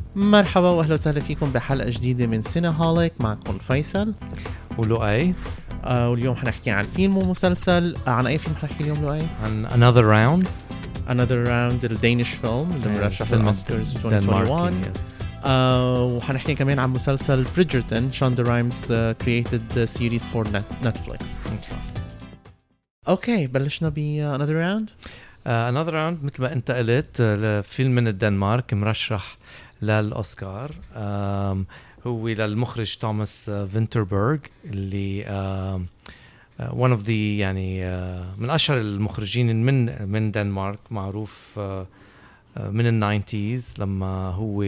مرحبا واهلا وسهلا فيكم بحلقه جديده من سينهوليك. معكم فيصل ولؤي. واليوم حنحكي عن فيلم ومسلسل. عن اي فيلم حنحكي اليوم لؤي؟ عن Another Round الدينيش فيلم اللي مرشح للأوسكارز 2021. وحنحكي كمان عن مسلسل بريدجرتون. شوندا رhimes created series for Netflix. اوكي بلشنا ب Another Round. Another Round مثل ما انت قلت فيلم من الدنمارك مرشح للأوسكار. هو للمخرج توماس فينتربرغ اللي one of the يعني من أشهر المخرجين من دنمارك، معروف من الناينتيز لما هو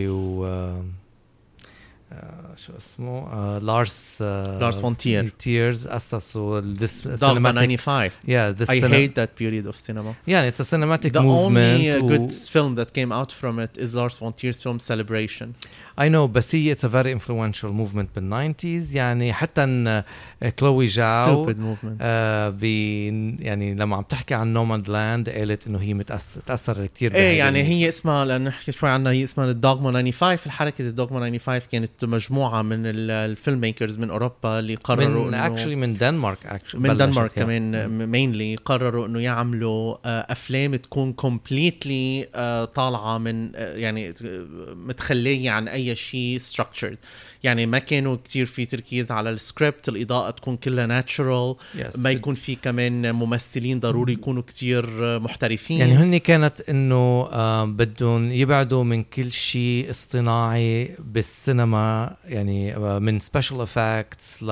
شو اسمه لارس فون تيرز أسسوا Dogma 95. I hate that period of cinema. Yeah, it's a cinematic The movement. The only good film that came out from it is Lars von Trier's film Celebration. I know, بس هي it's a very influential movement بال90s. يعني حتى ان كلوي جاو stupid movement. يعني لما عم تحكي عن نوماد لاند قالت انه هي تأثر كتير ايه يعني هي اسمها، لأن نحكي شوي عنها، هي اسمها الدوغما 95. الحركة الدوغما 95 كانت مجموعة من الفيلم ميكرز من أوروبا اللي قرروا من دنمارك من دنمارك كمان mainly قرروا انه يعملوا افلام تكون completely طالعة من يعني متخلية عن اي شيء structured. يعني ما كانوا كتير في تركيز على السكريبت، الإضاءة تكون كلها natural. ما يكون في كمان ممثلين ضروري يكونوا كتير محترفين. يعني هني كانت انه بدهم يبعدوا من كل شيء اصطناعي بالسينما، يعني من special effects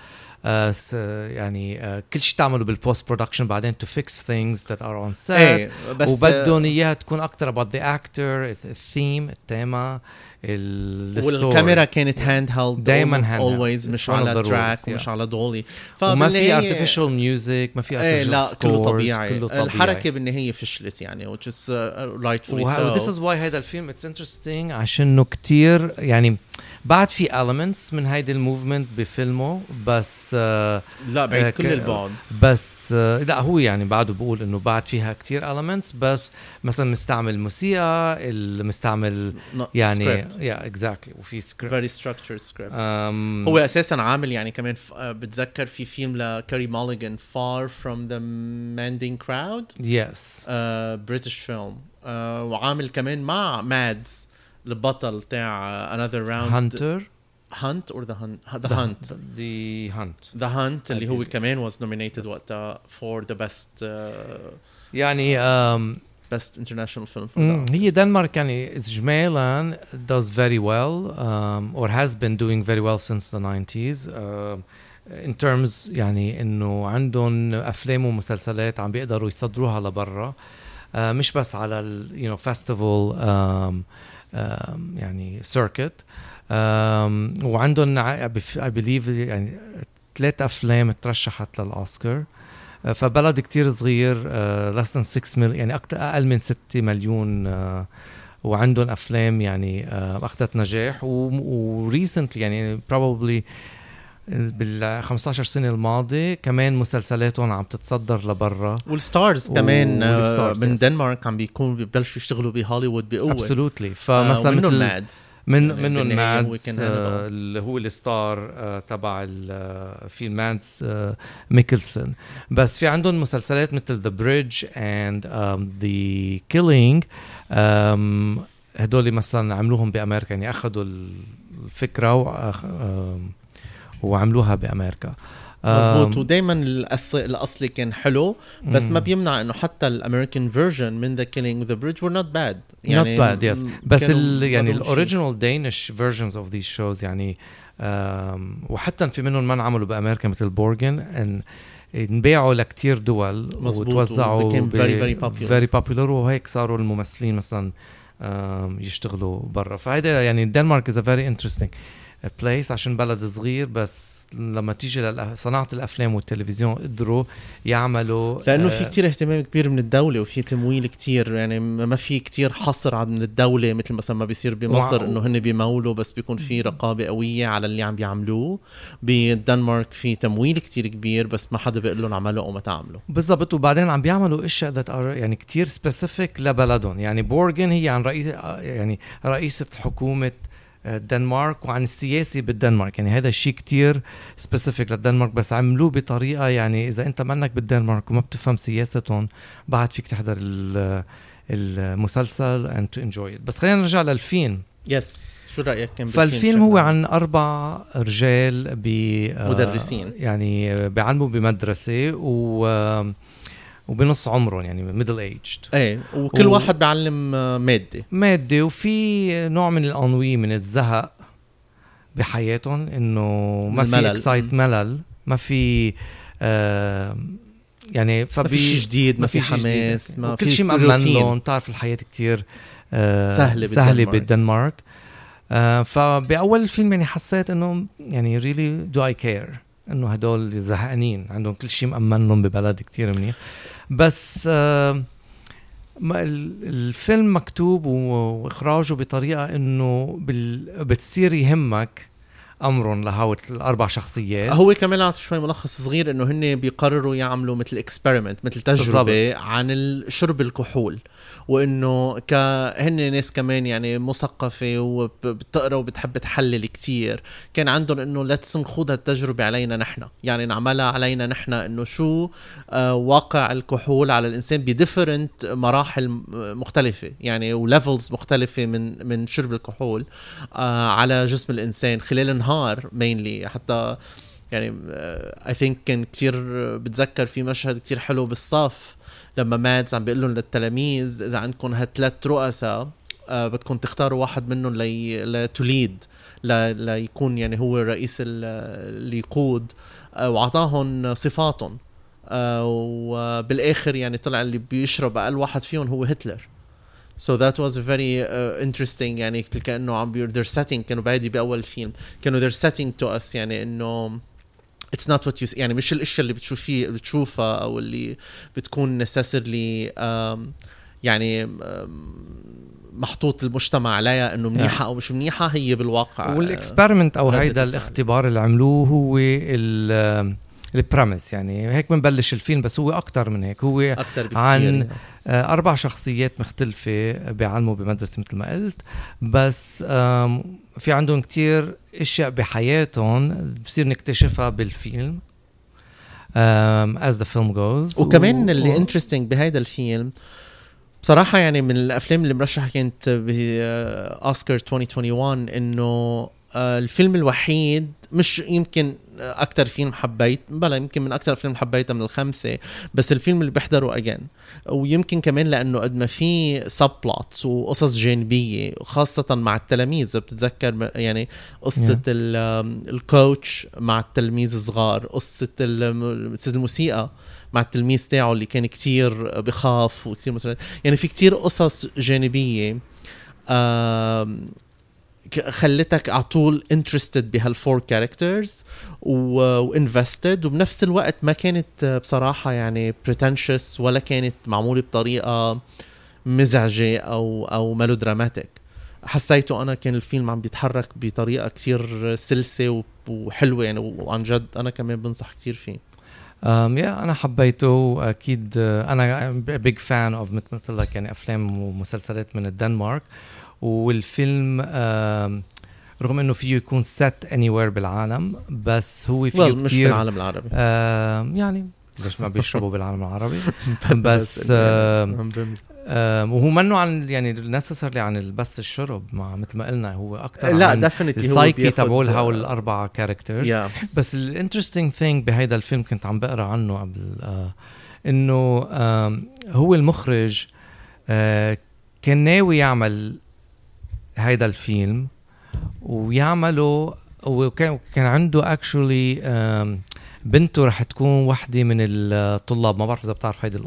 يعني كل شيء تعمله بالبوست برودكشن بعدين to fix things that are on set. وبدهم اياها تكون اكتر about the actor, الثيم، التيمة، والكاميرا كانت هاند هيلد دايما always، مش على تراك ومش على دولي. وما في artificial music، ما في artificial لا scores، كله طبيعي. الحركة بالنهاية فشلت يعني which is rightfully so. This is why هذا الفيلم it's interesting عشانه كتير يعني بعد في elements من هيدا الموفمنت بفيلمه، بس لا بعيد كل البعد. بس لا هو يعني بعده بقول انه بعد فيها كتير elements، بس مثلا مستعمل موسيقى، مستعمل يعني exactly، وفي script very structured script. هو اساسا عامل يعني كمان بتذكر في فيلم لكاري ماليغان Far from the Madding Crowd. yes British film. وعامل كمان مع مادز البطل تاع Another Round. Hunt or The Hunt اللي هو كمان was nominated وقتها for the best يعني best international film for هي دنمارك يعني إجمالاً does very well or has been doing very well since the 90s in terms يعني إنه عندهم أفلام ومسلسلات عم بيقدروا يصدروها لبرا، مش بس على festival يعني circuit. وعندهم I believe يعني 3 أفلام ترشحت للأوسكار. فبلد كتير صغير less than 6 مليون، يعني أقل من 6 مليون، وعندهم أفلام يعني أخذت نجاح. recently يعني probably بال15 سنة الماضية كمان مسلسلاتهم عم تتصدر لبرا، والستارز كمان من دنمارك عم بيبلشوا يشتغلوا بهوليوود بقوة. absolutely. فمثلا منهم مادز منهم مادز اللي هو الستار تبع في مادز ميكلسون. بس في عندهم مسلسلات مثل The Bridge and The Killing. هدول مثلا عملوهم بأمريكا، يعني أخذوا الفكرة وعملوها بأمريكا. مزبوط. ودايما الأصلي كان حلو، بس ما بيمنع إنه حتى الأمريكان version من The Killing The Bridge were not bad. يعني not bad, yes. بس يعني الأوريجينال Danish versions of these shows يعني وحتى في منهم ما عملوا بأمريكا مثل بورغن انباعوا لكتير دول وتوزعوا very popular وهيك صاروا الممثلين مثلا يشتغلوا برا. فهذا يعني الدنمارك is a very interesting بليس عشان بلد صغير، بس لما تيجي لصناعة الأفلام والتلفزيون قدروا يعملوا لأنه في كتير اهتمام كبير من الدولة وفي تمويل كتير، يعني ما في كتير حصر عن الدولة مثل مثلا ما بيصير بمصر إنه هن بيمولوا بس بيكون في رقابة قوية على اللي عم بيعملوه. بالدنمارك في تمويل كتير كبير بس ما حدا بيقول لهم عملوا أو ما تعملوا بالضبط. وبعدين عم بيعملوا اشياء يعني كتير سبيسيفيك لبلدهم. يعني بورغن هي عن رئيسة حكومة الدنمارك وعن السياسي بالدنمارك، يعني هذا الشيء كتير سبيسيفيك للدنمارك، بس عملوه بطريقة يعني إذا أنت منك بالدنمارك وما بتفهم سياستهم بعد فيك تحضر المسلسل and to enjoy it. بس خلينا نرجع للفيلم. شو رأيك كان فالفيلم هو عن 4 رجال مدرسين يعني بيعلموا بمدرسة وبنص عمرهم يعني middle aged. ايه وكل واحد بيعلم مادة وفي نوع من الأنوي من الزهق بحياتهم، انه ما في اكسايت ملل، ما في يعني ما في شيء جديد، ما في حماس، ما كل شيء مأمن لهم. تعرف الحياة كتير سهلة بالدنمارك. فبأول الفيلم يعني حسيت انه يعني really do I care انه هدول زهقانين عندهم كل شيء مأمن لهم ببلد كتير منيح. بس الفيلم مكتوب واخراجه بطريقه انه بتصير يهمك امرهم لهاو 4 شخصيات. هو كمان عطي شوي ملخص صغير انه هن بيقرروا يعملوا مثل اكسبيرمنت، مثل تجربه بالضبط عن شرب الكحول، وانه هن ناس كمان يعني مثقفه وبتقرا وبتحب تحلل كتير. كان عندهم انه لاتس نخوض هالتجربه علينا نحن، يعني نعملها علينا نحن، انه شو واقع الكحول على الانسان بديفرنت مراحل مختلفه يعني وليفلز مختلفه من شرب الكحول على جسم الانسان خلال النهار مينلي. حتى يعني I think كان كتير بتذكر في مشهد كتير حلو بالصف لما مادز عم بيقول لهم للتلاميذ إذا عندكم 3 رؤساء بدكم تختاروا واحد منهم لتوليد ليكون يعني هو الرئيس اللي يقود، وعطاهم صفاتهم، وبالآخر يعني طلع اللي بيشرب أقل واحد فيهم هو هتلر. So that was very interesting. يعني كأنه عم they're setting، كانوا بعيدي بأول فيلم كانوا they're setting to us يعني إنه it's not what you see، يعني مش الاشياء اللي بتشوفها او اللي بتكون necessarily يعني محطوط المجتمع عليها انه منيحه او مش منيحه، هي بالواقع. والاكسبيرمنت او هيدا الاختبار اللي عملوه هو البريمس، يعني هيك بنبلش الفيلم، بس هو اكتر من هيك. هو عن 4 شخصيات مختلفة بيعلموا بمدرسة مثل ما قلت، بس في عندهم كتير اشياء بحياتهم بصير نكتشفها بالفيلم as the film goes. وكمان اللي interesting بهيدا الفيلم بصراحة يعني من الأفلام اللي مرشحة كانت بأوسكار 2021 إنه الفيلم الوحيد، مش يمكن أكتر فيلم حبيت، بلا يمكن من أكتر الفيلم حبيتها من ال5، بس الفيلم اللي بحضره أجان. ويمكن كمان لأنه قد ما في subplots وقصص جانبية خاصة مع التلاميذ. بتتذكر يعني قصة الكوتش مع التلميذ الصغار، قصة الموسيقى مع التلميذ تاعه اللي كان كتير بخاف وكتير مثلا، يعني في كتير قصص جانبية خلتك عطول interested بهال4 characters وinvested، وبنفس الوقت ما كانت بصراحة يعني pretentious ولا كانت معمولة بطريقة مزعجة أو ميلودراماتيك. حسيته أنا كان الفيلم عم بيتحرك بطريقة كتير سلسة وحلوة يعني، وعن جد أنا كمان بنصح كتير فيه. أنا حبيته أكيد. أنا big fan of مثل لك يعني أفلام ومسلسلات من الدنمارك، والفيلم رغم انه فيه يكون set anywhere بالعالم، بس هو فيه مش بالعالم العربي يعني ليش ما بيشربوا بالعالم العربي بس وهو منه عن يعني necessarily عن بس الشرب، مع مثل ما قلنا هو اكتر عن السايكي تبعول هول 4 characters. بس الانترستينج ثينج بهيدا الفيلم كنت عم بقرا عنه قبل انه هو المخرج كان ناوي يعمل هيدا الفيلم ويعمله، وكان عنده actually بنته رح تكون واحدة من الطلاب. ما بعرف إذا بتعرف هيدي القصة.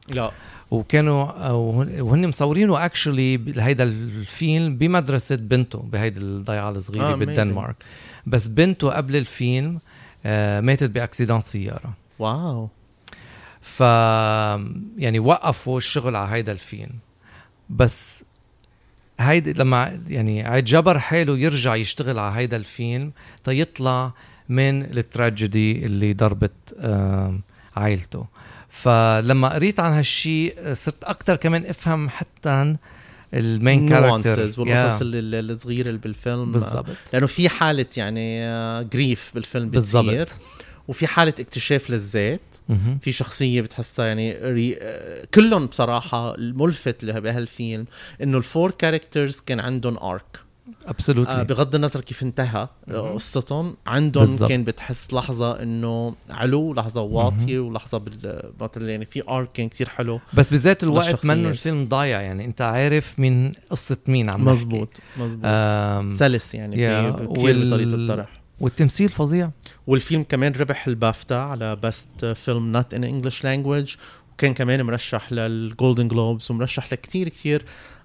لا وكانوا وهن مصورينه اكشلي هيدا الفيلم بمدرسه بنته بهيدي الضيعه الصغيره بالدنمارك. بس بنته قبل الفيلم ماتت باكسيدان سياره. واو. ف يعني وقفوا الشغل على هيدا الفيلم. بس هيدا لما يعني عاد جبر حاله يرجع يشتغل على هيدا الفيلم تيطلع من التراجيدي اللي ضربت عائلته. فلما قريت عن هالشي صرت أكتر كمان أفهم حتى المين كاركتر والقصص الصغيرة اللي بالفيلم بالضبط. لأنه في حالة يعني جريف بالفيلم بتصير، وفي حالة اكتشاف للذات. في شخصية بتحسها يعني كلهم بصراحة الملفت بهالفيلم إنه الفور كاركترز كان عندهم آرك. بغض النظر كيف انتهى قصتهم عندهم بالزبط. كان بتحس لحظة انه علو، لحظة واطية، ولحظة بالبطل يعني في ارك كان كتير حلو. بس بذات الوقت منه الفيلم ضايع، يعني انت عارف من قصة مين عم مزبوط سلس يعني كتير بطريقة الطرح، والتمثيل فظيع. والفيلم كمان ربح البافتا على بست فيلم نوت ان انجلش لانجويج، وكان كمان مرشح للجولدن جلوبز ومرشح لكتير كتير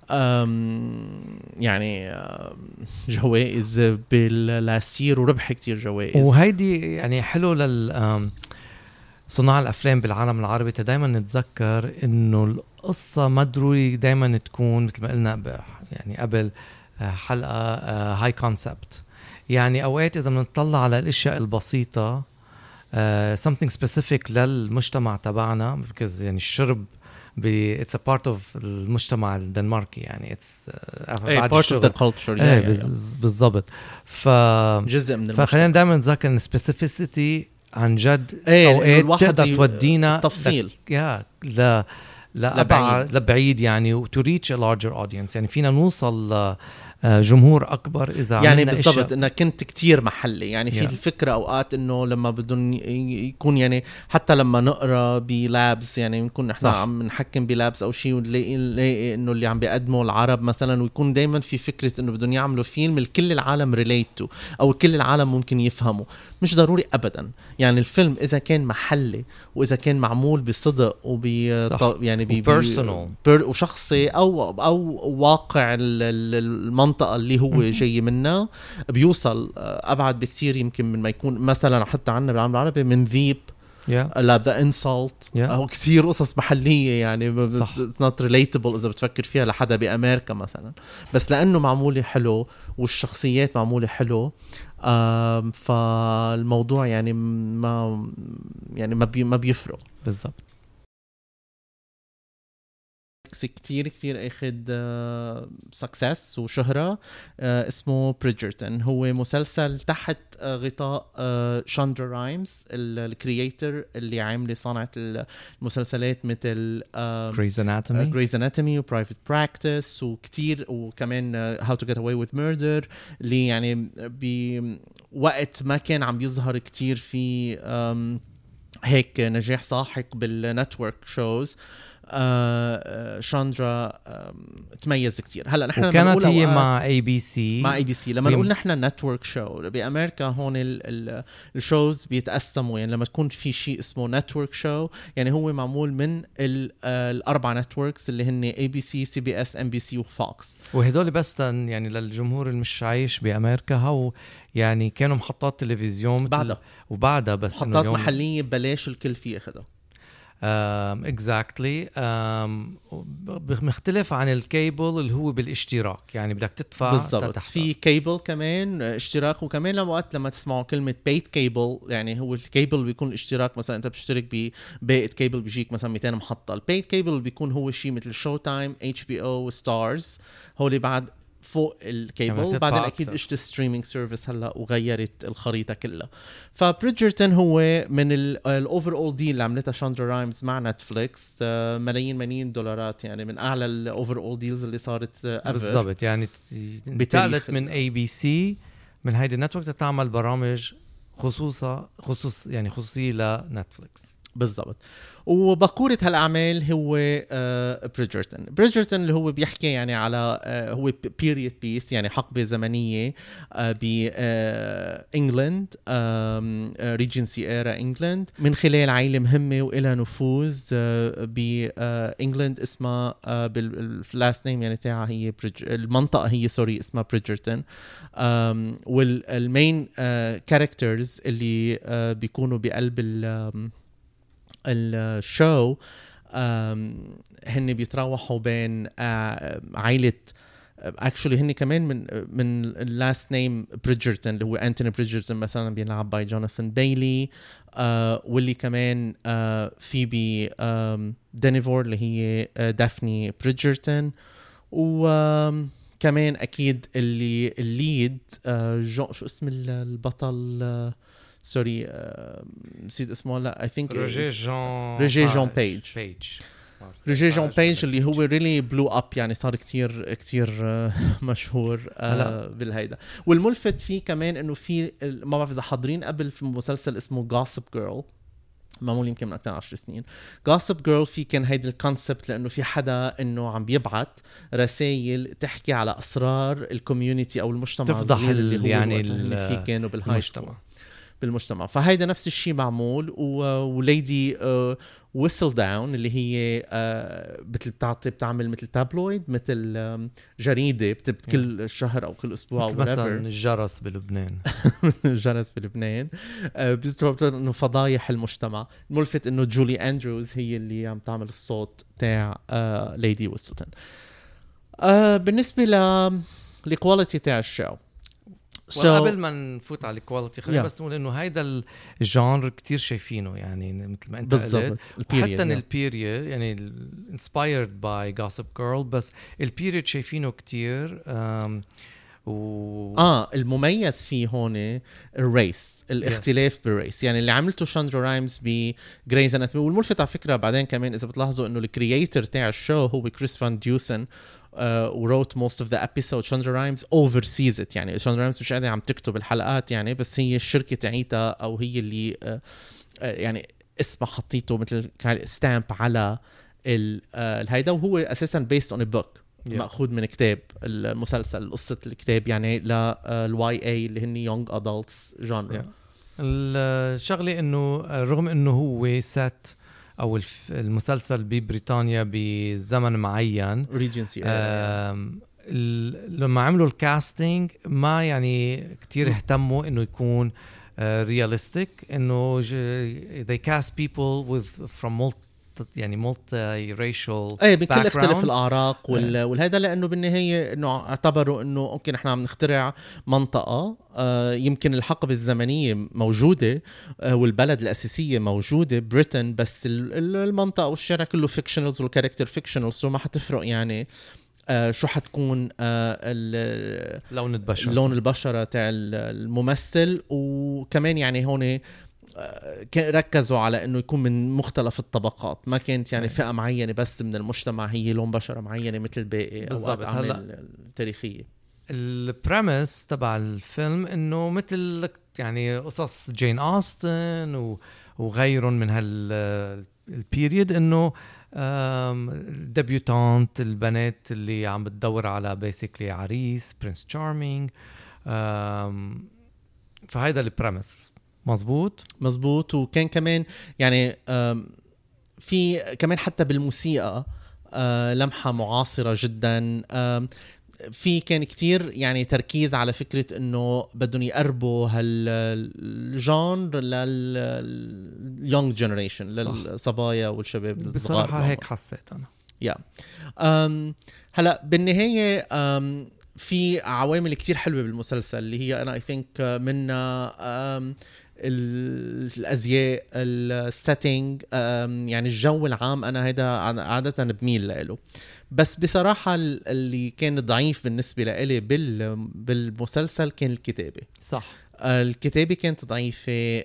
يعني جوائز باللاستير، وربح كتير جوائز. وهيدي يعني حلو صناع الأفلام بالعالم العربي دايما نتذكر إنه القصة ما ضروري دايما تكون مثل ما قلنا يعني قبل حلقة هاي كونسبت. يعني أوقات إذا بنطلع على الأشياء البسيطة something specific للمجتمع تبعنا، يعني الشرب it's a part of المجتمع الدنماركي، يعني it's part of the culture. بالضبط. جزء من المجتمع. فخلينا دائما نتذكر ان specificity عن جد اوقات تقدر تودينا تفصيل لبعيد يعني to reach a larger audience. يعني فينا نوصل جمهور أكبر إذا يعني بالضبط إنه كنت كتير محلي. يعني في الفكرة أوقات إنه لما بدون يكون يعني حتى لما نقرأ بلابس يعني نكون إحنا عم نحكم بلابس أو شيء ونلاقي إنه اللي عم بيقدموا العرب مثلا، ويكون دايما في فكرة إنه بدون يعملوا فيلم الكل العالم ريليتو أو كل العالم ممكن يفهموا. مش ضروري أبدا. يعني الفيلم إذا كان محلي وإذا كان معمول بصدق يعني وشخصي أو واقع المنطقة اللي هو جاي منها، بيوصل أبعد بكتير يمكن من ما يكون مثلا حتى عنا بالعالم العربي من ذيب لا The Insult أو كتير قصص محلية يعني it's not relatable إذا بتفكر فيها لحدا بأمريكا مثلا، بس لأنه معمولة حلو والشخصيات معمولة حلو فالموضوع يعني ما بيفرق بالضبط. كتير اخد سكسس وشهرة اسمه بريدجرتون. هو مسلسل تحت غطاء شاندرا رايمز الكرييتر اللي عامل صنعة المسلسلات مثل Grey's Anatomy و Private Practice وكتير، وكمان How to Get Away with Murder اللي يعني بوقت ما كان عم يظهر كتير في هيك نجاح ساحق بالنتورك شوز. شاندرا تميز كتير. هلا نحن وكانت هي مع ABC لما نقول نحن نتورك شو بأمريكا هون الشوز بيتقسموا. يعني لما تكون في شيء اسمه نتورك شو يعني هو معمول من الأربع نتوركس اللي هن ABC CBS NBC وفوكس، وهدول بس يعني للجمهور المش عايش بأمريكا هو يعني كانوا محطات تلفزيون وبعدها بس محطات محلية ببلاش الكل فيه ياخدها. exactly. مختلف عن الكيبل اللي هو بالاشتراك، يعني بدك تدفع بالضبط. في كيبل كمان اشتراك، وكمان لما تسمعوا كلمة بيت كيبل يعني هو الكيبل بيكون الاشتراك مثلا انت بتشترك ببيت كيبل بيجيك مثلا 200 محطة. البيت كيبل بيكون هو شيء مثل شو تايم HBO وستارز هولي بعد فوق الكيبل. بعدين اكيد اجت ستريمينج سيرفيس هلا وغيرت الخريطه كلها. فبريدجرتون هو من الاوفر اول ديل اللي عملتها شاندرا رايمز مع نتفليكس، ملايين دولارات، يعني من اعلى الاوفر اول ديلز اللي صارت بالضبط. يعني انتقلت من ABC من هيدي النتورك تعمل برامج خصوصية لنتفليكس. بالضبط. وبقورة هالأعمال هو بريدجرتون اللي هو بيحكي يعني على هو period piece يعني حقبة زمنية بإنجلند ريجنسي إيرا إنجلند من خلال عائلة مهمة وإلها نفوذ بإنجلند اسمها باللاست نيم يعني تاعها هي المنطقة هي اسمها بريدجرتون. والمين كاركترز اللي بيكونوا بقلب الشو هن بيتراوحوا بين عائلة actually هن كمان من last name بريدجرتون اللي هو أنتوني بريدجرتون مثلا بيلعب باي جوناثان بايلي واللي كمان فيبي دينيفور اللي هي دافني بريدجرتون وكمان أكيد الليد شو اسم البطل سوري نسيت اسمه لا I think روجيه جون بيج روجيه جون بيج اللي هو really blew up يعني صار كتير مشهور بالهيدا. والملفت فيه كمان انه في ما بعرف اذا حاضرين قبل في مسلسل اسمه Gossip Girl معمول يمكن من أكثر 10 سنين. Gossip Girl في كان هيدا الكونسبت لأنه في حدا إنه عم بيبعت رسائل تحكي على أسرار الكوميونيتي أو المجتمع تفضح اللي هو يعني اللي فيه كانوا بالمجتمع. فهيدا نفس الشيء معمول. وليدي ويسل داون اللي هي بتعمل مثل تابلويد مثل جريدة كل شهر أو كل أسبوع مثل مثلا الجرس بلبنان الجرس بلبنان بتطلب إنه فضايح المجتمع. الملفت إنه جولي أندروز هي اللي عم تعمل الصوت تاع ليدي ويسل داون. بالنسبة للكواليتي تاع الشو قبل ما نفوت على الكواليتي خلينا بس نقول انه هيدا الجانر كتير شايفينه يعني مثل ما انت قلت حتى البيريود يعني inspired by Gossip Girl بس البيريود شايفينه كتير المميز فيه هون الريس الاختلاف بالريس يعني اللي عملته شاندرا رايمز بجريز اناتومي. والملفت على فكرة بعدين كمان إذا بتلاحظوا إنه الكرياتور تاع الشو هو كريس فان ديوسن وروت most of the episode. شاندرا رايمز oversees it يعني شاندرا رايمز مش قاعدة عم تكتب الحلقات يعني بس هي الشركة تعيتها أو هي اللي يعني اسمها حطيته مثل ستامب على الهيدا. وهو أساسا based on a book مأخوذ من كتاب المسلسل قصة الكتاب يعني للواي اي اللي هن young adults genre. الشغلة إنه رغم إنه هو set أو المسلسل ببريطانيا بزمن معين لما عملوا الكاستينج ما يعني كتير اهتموا إنه يكون realistic إنه they cast people with from يعني multi-racial بكل اختلاف الأعراق والهذا لأنه بالنهاية إنه اعتبروا إنه أوكي نحن عم نخترع منطقة يمكن الحقبة الزمنية موجودة والبلد الأساسية موجودة بريتن بس المنطقة والشارع كله فيكشنالز والكاركتر فيكشنالز وما حتفرق يعني شو حتكون لون البشرة تاع الممثل. وكمان يعني هون ركزوا على انه يكون من مختلف الطبقات ما كانت يعني فئة معينة بس من المجتمع هي لون بشرة معينة مثل الباقي او اعمال تاريخية. البريمس تبع الفيلم انه مثل يعني قصص جين آستن وغيرهم من هالبيريود انه ديبيوتانت البنات اللي عم بتدور على بيسيكلي عريس برنس تشارمينج. فهيدا البريمس مزبوط. وكان كمان يعني في كمان حتى بالموسيقى لمحة معاصرة جدا. في كان كتير يعني تركيز على فكرة انه بدهم يقربوا هالجانر لليونج جنريشن للصبايا والشباب الصغار. بصراحة هيك حسيت انا هلا بالنهاية في عوامل كتير حلوة بالمسلسل اللي هي انا I think منها الازياء السيتنج يعني الجو العام انا هيدا عادة بميل له. بس بصراحة اللي كان ضعيف بالنسبة لي بالمسلسل كان الكتابة. صح الكتابة كانت ضعيفة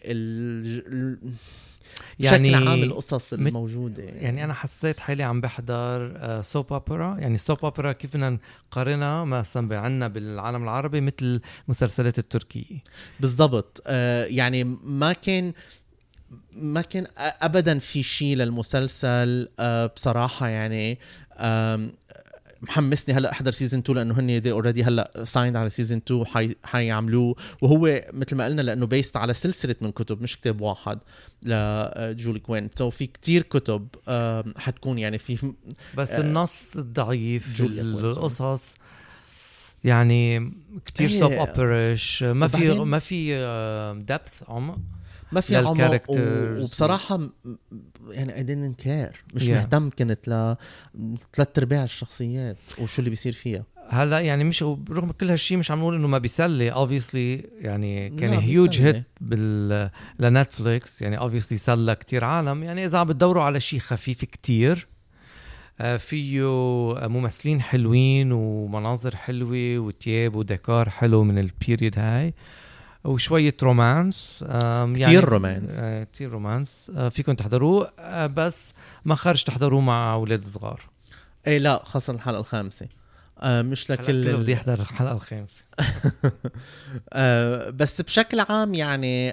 يعني بشكل عام القصص الموجودة يعني أنا حسيت حالي عم بحضر سوب أوبرا. يعني سوب أوبرا كيف بدنا نقارنها مثلا عنا بالعالم العربي مثل المسلسلات التركية بالضبط. يعني ما كان ما كان ابدا في شيء للمسلسل بصراحه يعني. محمسني هلا احضر سيزن 2 لانه هن دي اوريدي هلا سايند على سيزن 2 حيعملوه، وهو مثل ما قلنا لانه بيست على سلسله من كتب مش كتاب واحد لجولي كوين. سو في كتير كتب حتكون يعني في بس النص ضعيف، القصص يعني كتير سب اوبريش، ما في دبث عمق، ما في عمق وبصراحة يعني I didn't care، مش مهتم كنت ل3/4 الشخصيات وشو اللي بيصير فيها. هلا يعني مش رغم كل هالشي مش عم نقول انه ما بيسلي obviously، يعني كان هيوج هيت لنتفليكس، يعني obviously سلى كتير عالم. يعني اذا عم بتدوروا على شي خفيف كتير فيه ممثلين حلوين ومناظر حلوة وتياب وديكور حلو من البيريد هاي وشوية رومانس، كتير رومانس فيكم تحضروه، بس ما خرج تحضروه مع أولاد صغار. ايه لا، خاصة الحلقة الخامسة مش لكل بدي يحضر الحلقة الخامسة. بس بشكل عام يعني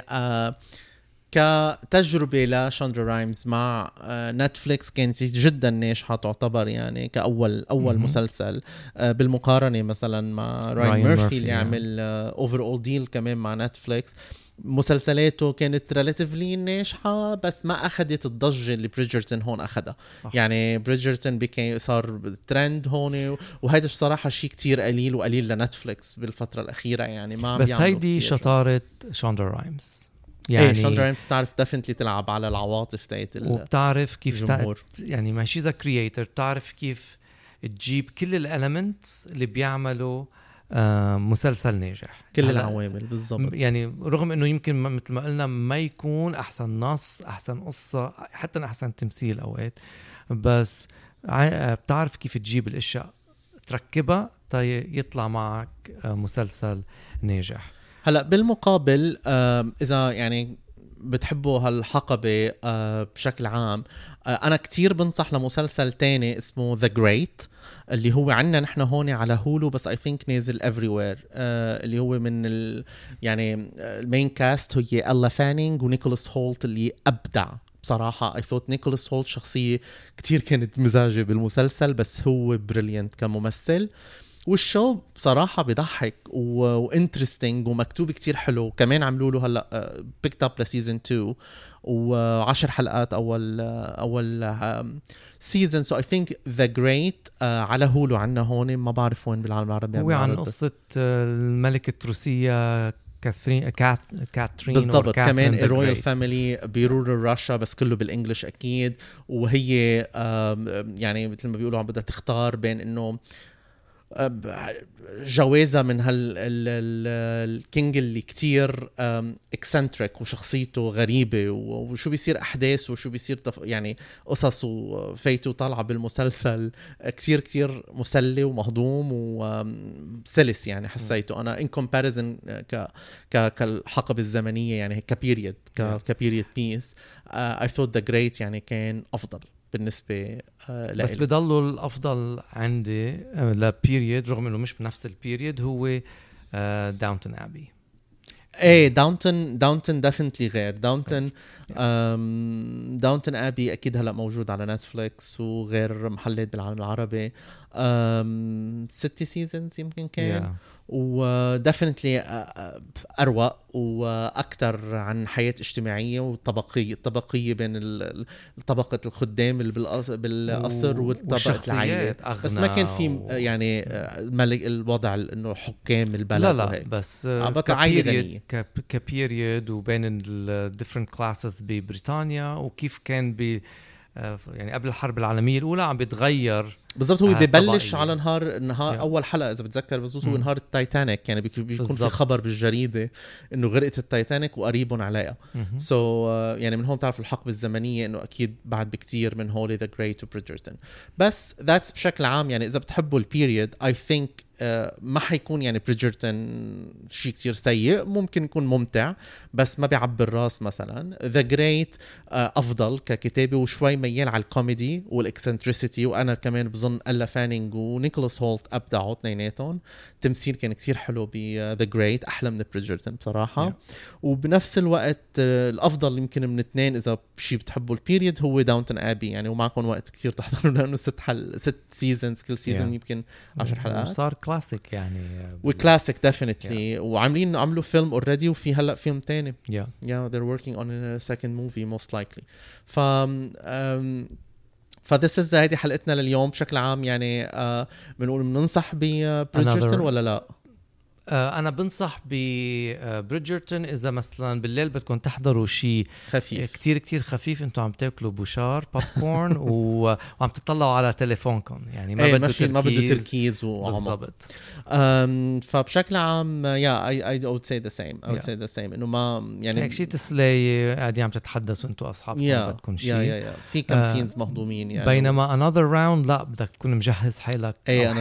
كتجربة لشاندرا رايمز مع نتفليكس كانت جدا ناجحة، تعتبر يعني كأول مسلسل بالمقارنة مثلا مع راين ميرفي اللي عمل اوفر اول ديل كمان مع نتفليكس. مسلسلاته كانت ريلاتيفلي ناجحة بس ما أخذت الضجة اللي بريدجرتون هون أخذها. يعني بريدجرتون صار ترند هون، وهذا الصراحة شيء كتير قليل لنتفليكس بالفترة الأخيرة. يعني ما بس هيدي شطارة شاندرا رايمز، يعني شاندرا رايمز بتعرف ديفنتلي تلعب على العواطف تاعت وبتعرف كيف يعني ما شيء كرييتر، بتعرف كيف تجيب كل الاليمنتس اللي بيعملوا مسلسل ناجح، كل العوامل بالضبط. يعني رغم انه يمكن مثل ما قلنا ما يكون احسن نص، احسن قصة، حتى احسن تمثيل اوقات، بس بتعرف كيف تجيب الاشياء تركبها يطلع معك مسلسل ناجح. هلا بالمقابل اذا يعني بتحبوا هالحقبة بشكل عام، أنا كتير بنصح لمسلسل تاني اسمه The Great اللي هو عنا نحن هون على هولو، بس I think نازل everywhere. اللي هو من يعني المين كاست هي ألا فانينج ونيكولاس هولت اللي أبدع بصراحة. I thought نيكولاس هولت شخصية كتير كانت مزاجة بالمسلسل، بس هو بريليانت كممثل. والشو بصراحة بيضحك وانترستينج ومكتوب كتير حلو. كمان عملوا له هلا بيكت اب لسيزن 2 و10 حلقات اول سيزن. سو اي ثينك ذا جريت على هولو عنا هون، ما بعرف وين بالعالم العربي. هو عن قصة الملكة الروسية كاترين بالضبط. كمان الرويال فاميلي بيرور روسيا، بس كله بالانجلش اكيد. وهي يعني مثل ما بيقولوا عم بدها تختار بين انه جوازة من الكينج اللي كتير اكسنتريك وشخصيته غريبة، وشو بيصير أحداث وشو بيصير يعني قصص وفايته طالعة بالمسلسل كتير كتير مسلي ومهضوم وسلس. يعني حسيته أنا in comparison كالحقبة الزمنية يعني كبيريد كبيريد بيس. I thought the great يعني كان أفضل بالنسبة بس بضلوا الأفضل عندي لبيريد رغم إنه مش بنفس البيريد هو داونتون أبي. ايه داونتون ديفنتلي غير. داونتون أبي أكيد هلأ موجود على نتفليكس وغير محلات بالعالم العربي. 6 سيزنز يمكن كان ودفنتلي أروق وأكتر عن حياة اجتماعية والطبقية بين طبقة الخدام اللي بالقصر والطبقة العائلة. بس ما كان في يعني الوضع إنه حكام البلد. لا بس كبيريد وبين ال different classes ببريطانيا، وكيف كان يعني قبل الحرب العالمية الأولى عم بيتغير بالضبط. هو ببلش على نهار أول حلقة إذا بتذكر بالضبط هو نهار التايتانيك. يعني بيكون في خبر بالجريدة إنه غرقت التايتانيك وقريبون عليها. يعني من هون تعرف الحقبة الزمنية إنه أكيد بعد بكتير من هولي ذا جريت وبريدجرتون. بس that's بشكل عام يعني إذا بتحبوا البيريد I think ما حيكون يعني بريدجرتون شيء كتير سيء، ممكن يكون ممتع بس ما بيعبر الراس. مثلا ذا جريت افضل ككتابه وشوي ميال على الكوميدي والاكسنتريسيتي، وانا كمان بظن ألا فانينج ونيكولاس هولت ابدعوا اثنيناتهم. التمثيل كان كتير حلو بذا جريت، احلى من بريدجرتون بصراحه. وبنفس الوقت الافضل يمكن من اثنين اذا شيء بتحبوا البيريد هو داونتون ابي، يعني ومعكم وقت كتير تحضروا لانه 6 سيزونز، كل سيزون يمكن 10 حلقات، صار كلاسيك يعني وكلاسيك ديفينتلي. عملوا فيلم اوريدي وفي هلا فيلم تاني. yeah they're working on a second movie most likely. فthis is هذه حلقتنا لليوم بشكل عام. يعني بنقول بننصح ببريدجرتون ولا لا؟ أنا بنصح ببريدجرتون إذا مثلا بالليل بدكم تحضروا شيء خفيف كتير كتير خفيف، أنتوا عم تاكلوا بوشار بوب كورن وعم تطلعوا على تليفونكم، يعني ما بده تركيز بالضبط. فبشكل عام I would say the same. I would say the same إنه ما يعني شيء تسلية قاعدين عم تتحدثوا أنتوا أصحابكم بدكم شيء في كم سينز مهضومين يعني. بينما another round لا بدك تكون مجهز حالك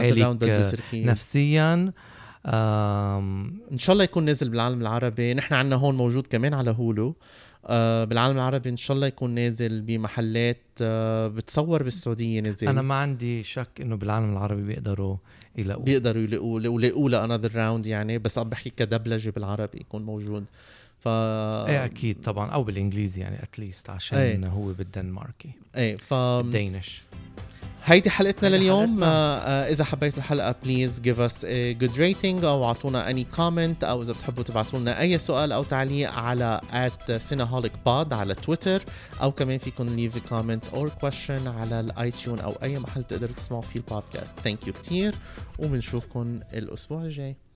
نفسيا. ان شاء الله يكون نازل بالعالم العربي. نحن عنا هون موجود كمان على هولو بالعالم العربي، ان شاء الله يكون نازل بمحلات بتصور بالسعوديه نازل. انا ما عندي شك انه بالعالم العربي بيقدروا يلاقوا another round يعني، بس عم بحكي كدبلجه بالعربي يكون موجود. ايه اكيد طبعا، او بالانجليزي يعني اتليست عشان هو بالدنماركي الدينش. هيدي حلقتنا لليوم. إذا حبيتوا الحلقة please give us a good rating أو عطونا any comment، أو إذا بتحبوا تبعتوا لنا أي سؤال أو تعليق على @cineholicpod على تويتر، أو كمان فيكم leave a comment or question على الآيتيون أو أي محل تقدروا تسمعوا فيه البودكاست. thank you كتير، وبنشوفكم الأسبوع الجاي.